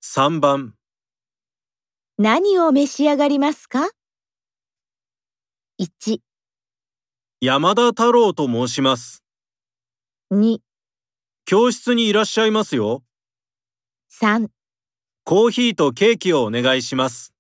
3番、 何を召し上がりますか？ 1、 山田太郎と申します。 2、 教室にいらっしゃいますよ。 3 コーヒーとケーキをお願いします。